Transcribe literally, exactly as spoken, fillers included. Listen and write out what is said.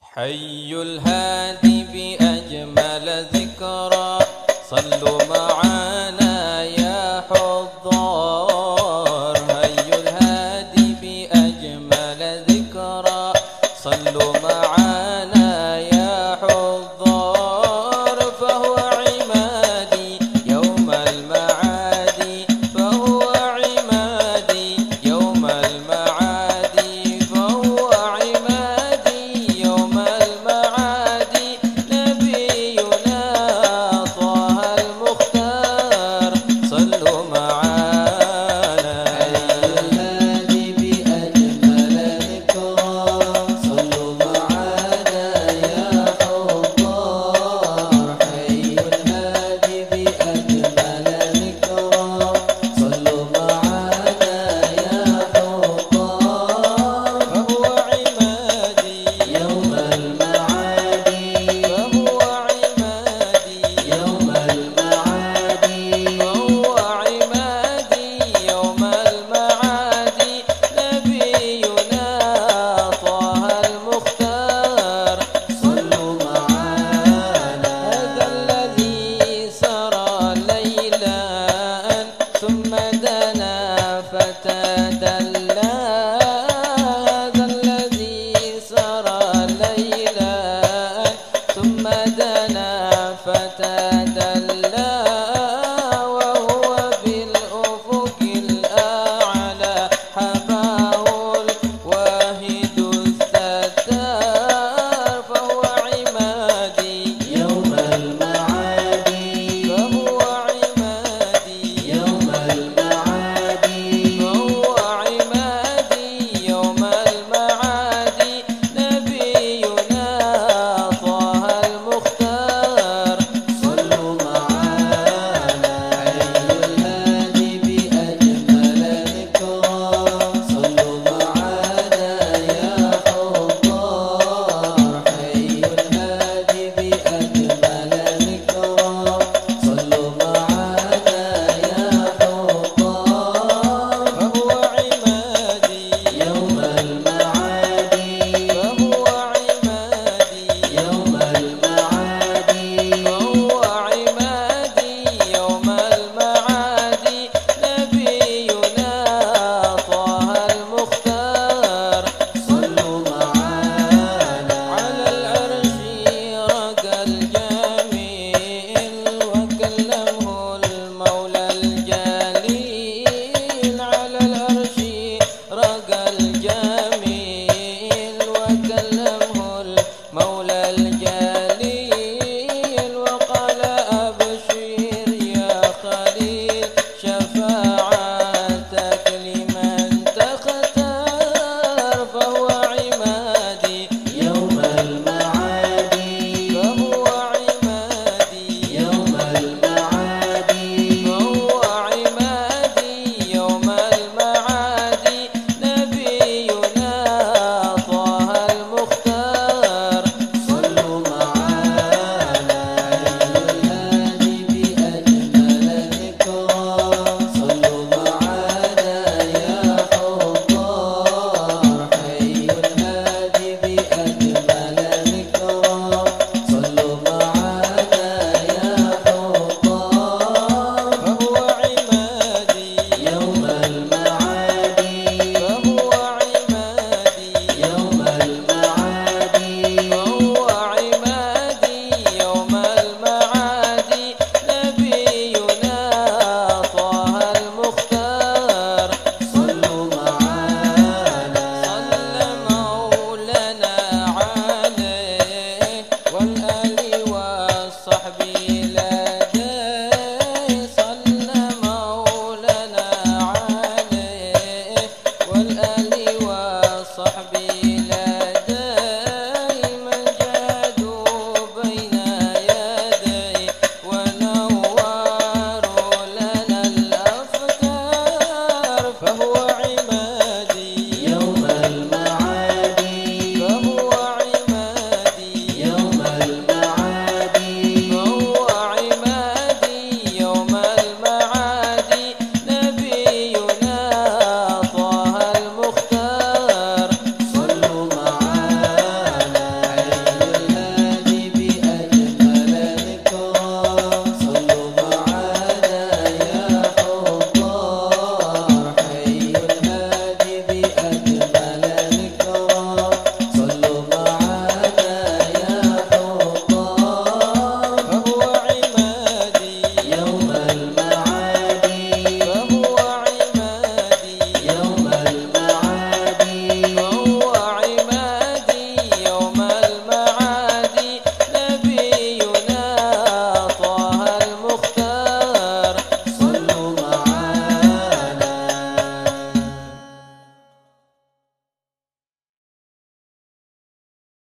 حي الهادي بأجمل ذكرى صلوا معانا يا حضار. حي الهادي بأجمل ذكرى صلوا معانا يا حضار. فهو عمادي يوم المعادي، فهو عمادي يوم المعادي، فهو عمادي يوم المعادي. نبينا طه المختار صلوا معانا. الهادي بأجمل ذكرى صلوا معانا يا حضار. حي الهادي بأجمل ذكرى صلوا معانا يا حضار. فهو عمادي يوم المعادي، فهو عمادي يوم المعادي، فهو عمادي يوم المعادي. نبينا طه المختار صلوا معانا. هذا الذي سرى ليلا ثم دنا فتدلى. هذا الذي سرى